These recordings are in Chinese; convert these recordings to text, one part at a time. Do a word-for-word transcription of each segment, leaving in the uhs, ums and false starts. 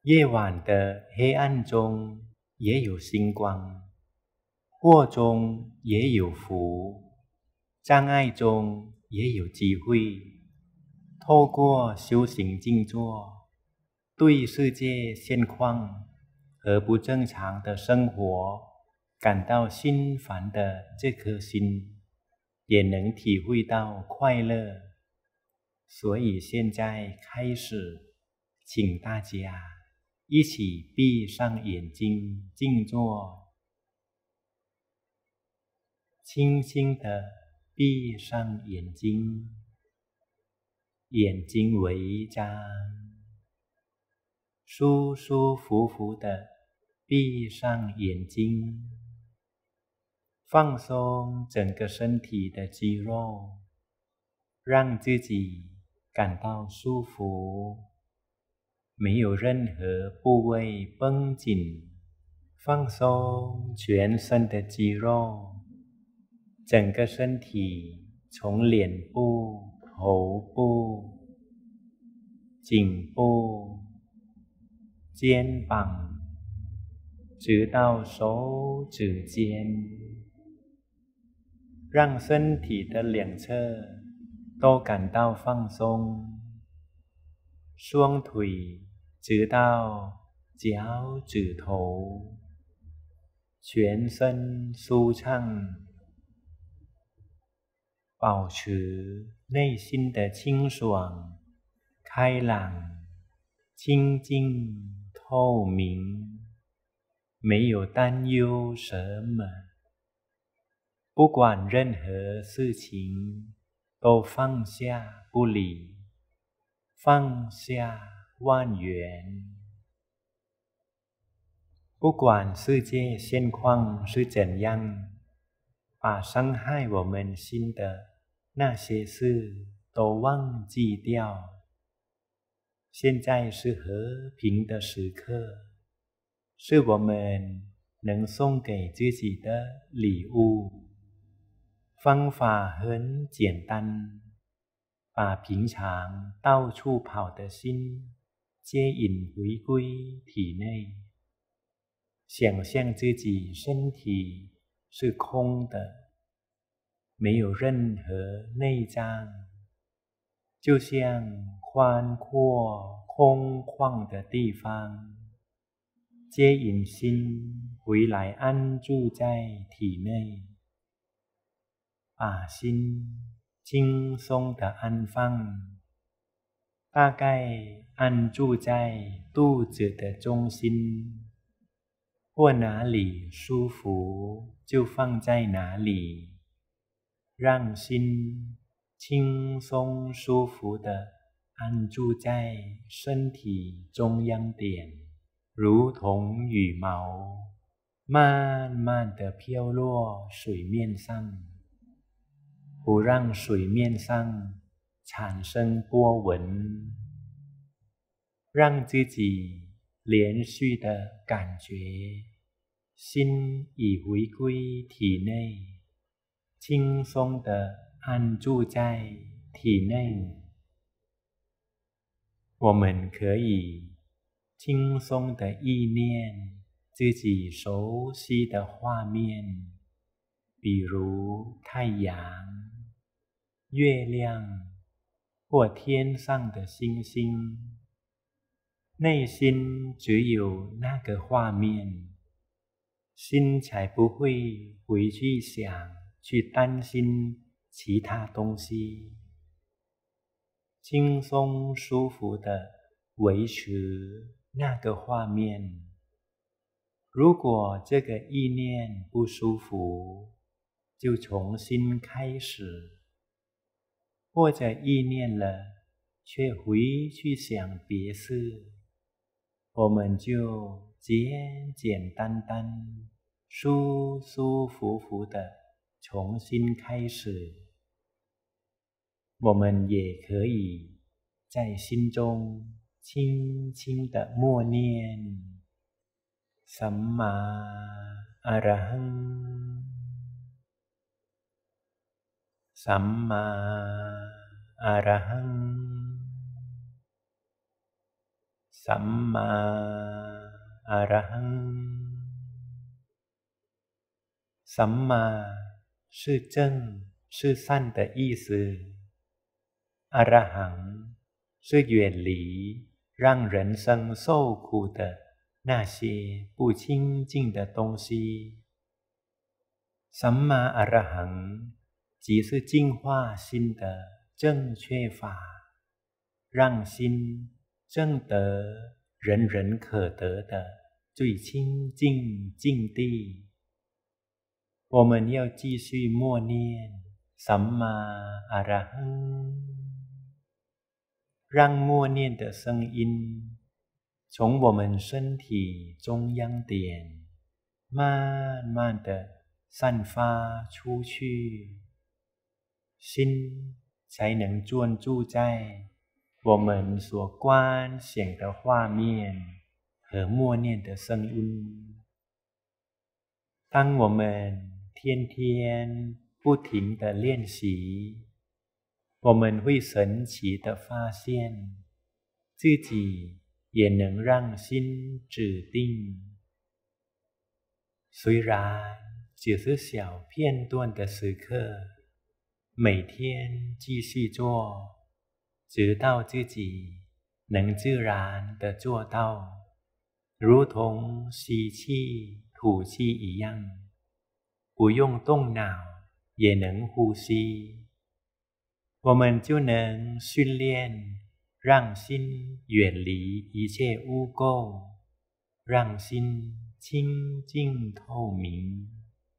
夜晚的黑暗中也有星光，祸中也有福，障碍中也有机会。透过修行静坐，对世界现况和不正常的生活感到心烦的这颗心，也能体会到快乐。所以现在开始，请大家一起闭上眼睛静坐，轻轻地闭上眼睛，眼睛微张，舒舒服服地闭上眼睛，放松整个身体的肌肉，让自己感到舒服，没有任何部位绷紧，放松全身的肌肉，整个身体从脸部、头部、颈部、肩膀，直到手指尖，让身体的两侧都感到放松，双腿直到脚趾头，全身舒畅，保持内心的清爽、开朗、清净、透明，没有担忧什么，不管任何事情都放下不理，放下万缘。不管世界现况是怎样，把伤害我们心的那些事都忘记掉。现在是和平的时刻，是我们能送给自己的礼物。方法很简单，把平常到处跑的心接引回归体内，想象自己身体是空的，没有任何内脏，就像宽阔空旷的地方，接引心回来安住在体内，把心轻松地安放，大概安住在肚子的中心，或哪里舒服就放在哪里，让心轻松舒服地安住在身体中央点，如同羽毛慢慢地飘落水面上，不让水面上产生波纹，让自己连续地感觉心已回归体内，轻松地安住在体内。我们可以轻松地意念自己熟悉的画面，比如太阳、月亮或天上的星星，内心只有那个画面，心才不会回去想、去担心其他东西，轻松舒服地维持那个画面。如果这个意念不舒服，就重新开始，或者意念了却回去想别事，我们就简简单单、舒舒服服地重新开始。我们也可以在心中轻轻地默念สัมมาอะระหังสัมมาอะระหังสัมมาอรหังสัมมา是正是善的意思อรหัง是远离让人生受苦的那些不清净的东西สัมมาอรหัง即是净化心的正确法让心正得人人可得的最清净境地我们要继续默念สัมมาอรหัง让默念的声音从我们身体中央点慢慢的散发出去心才能专注在我们所观想的画面和默念的声音当我们天天不停地练习我们会神奇地发现自己也能让心止定虽然只是小片段的时刻每天继续做直到自己能自然地做到如同吸气吐气一样不用动脑也能呼吸我们就能训练让心远离一切污垢让心清净透明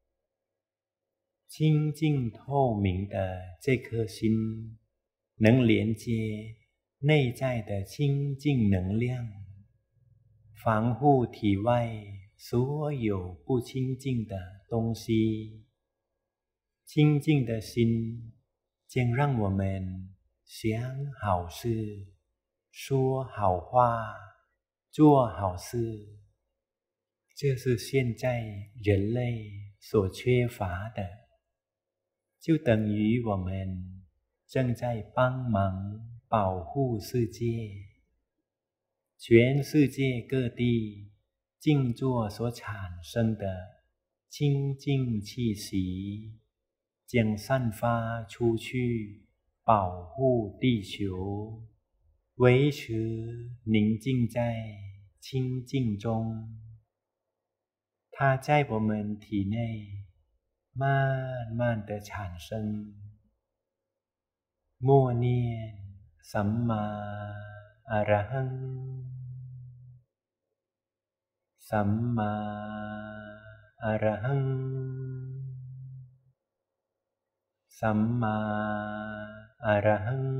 清净透明的这颗心能连接内在的清净能量防护体外所有不清净的东西清净的心将让我们想好事说好话做好事这是现在人类所缺乏的就等于我们正在帮忙保护世界全世界各地静坐所产生的清净气息将散发出去保护地球维持宁静在清净中它在我们体内慢慢地产生默念สัมมาอรหังสัมมาอรหังสัมมาอรหัง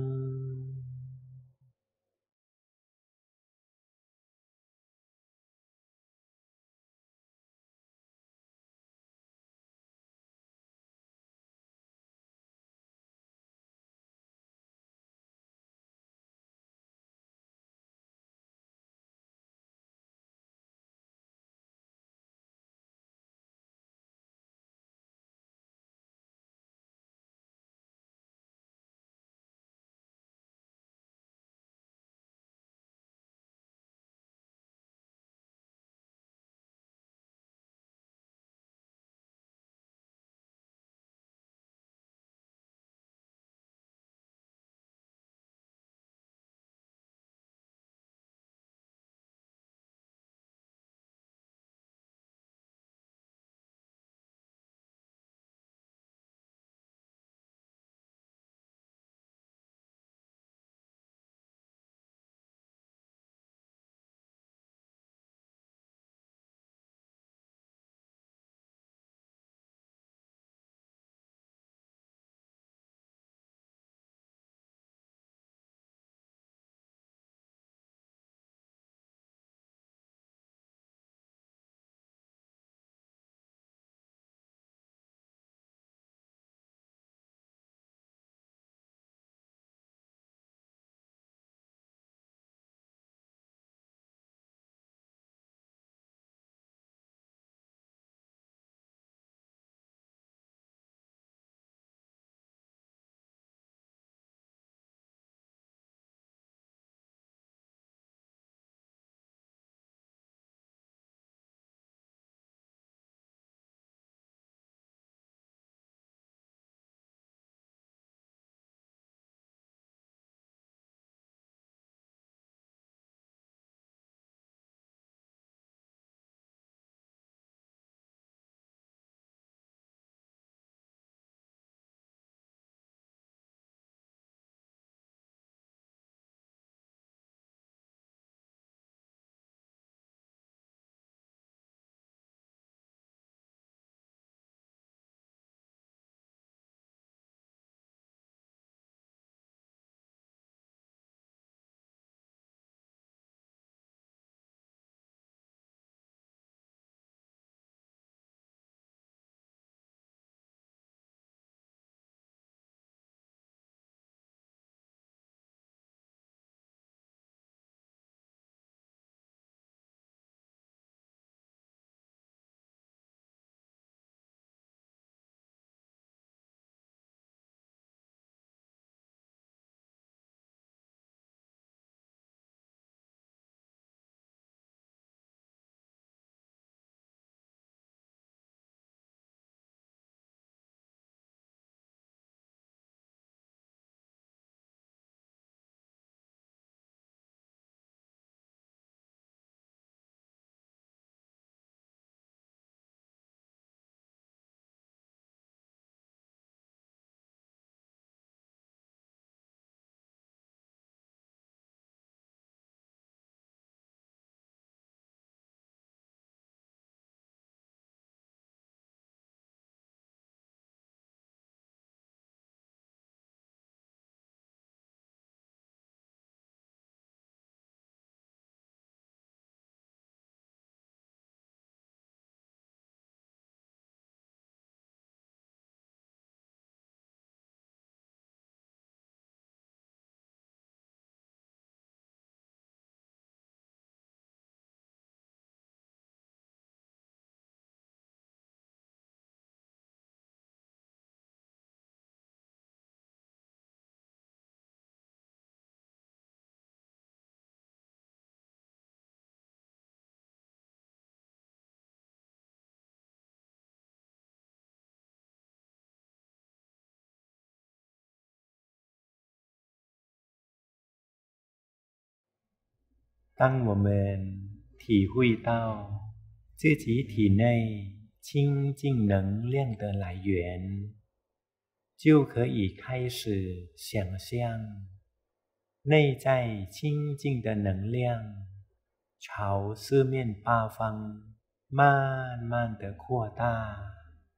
当我们体会到自己体内清净能量的来源，就可以开始想象内在清净的能量朝四面八方慢慢的扩大。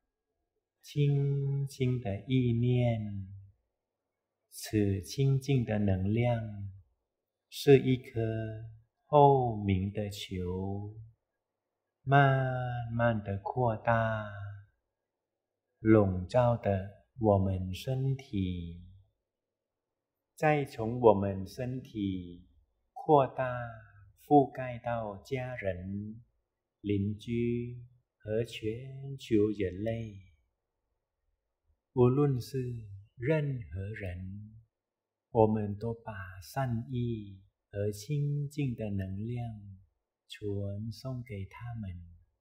轻轻的意念，此清净的能量是一颗透明的球，慢慢的扩大，笼罩的我们身体，再从我们身体扩大覆盖到家人、邻居和全球人类。无论是任何人，我们都把善意和清净的能量传送给他们，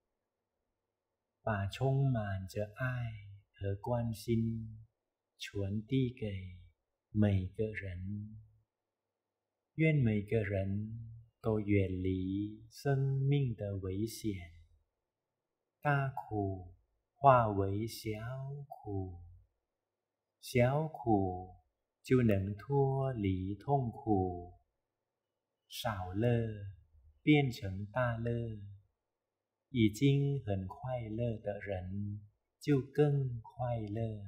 把充满着爱和关心传递给每个人。愿每个人都远离生命的危险，大苦化为小苦，小苦就能脱离痛苦，少乐变成大乐，已经很快乐的人就更快乐。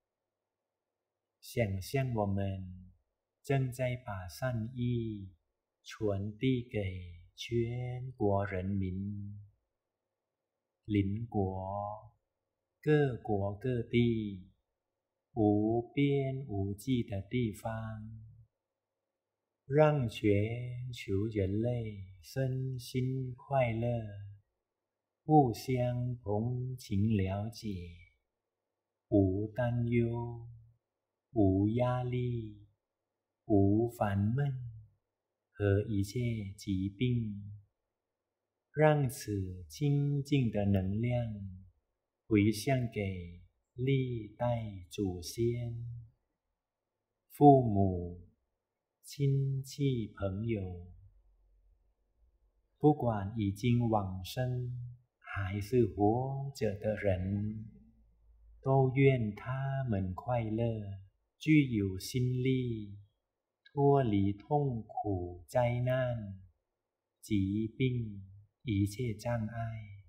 想象我们正在把善意传递给全国人民，邻国、各国各地，无边无际的地方，让全球人类身心快乐，互相同情了解，无担忧，无压力，无烦闷和一切疾病，让此清净的能量回向给历代祖先、父母、亲戚朋友，不管已经往生还是活着的人，都愿他们快乐，具有心力，脱离痛苦、灾难、疾病、一切障碍。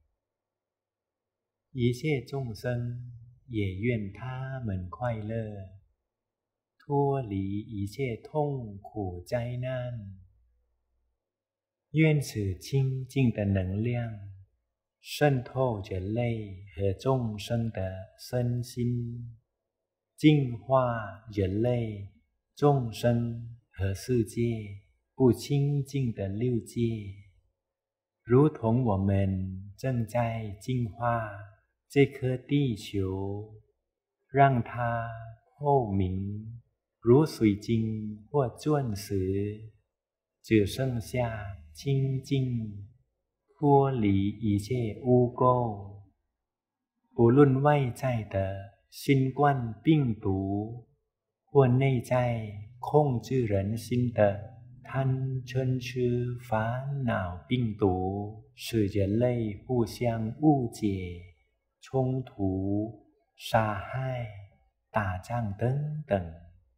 一切众生也愿他们快乐，脱离一切痛苦灾难。愿此清净的能量渗透人类和众生的身心，净化人类、众生和世界不清净的六界，如同我们正在净化这颗地球，让它透明如水晶或钻石，只剩下清净，脱离一切污垢。不论外在的新冠病毒，或内在控制人心的贪嗔痴烦恼病毒，使人类互相误解、冲突、杀害、打仗等等，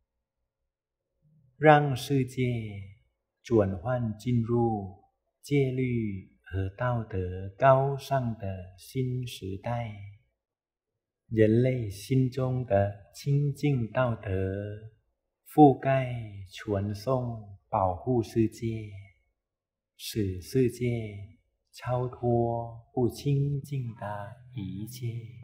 让世界转换进入戒律和道德高尚的新时代。人类心中的清净道德覆盖、传送、保护世界，使世界超脱不清净的一切。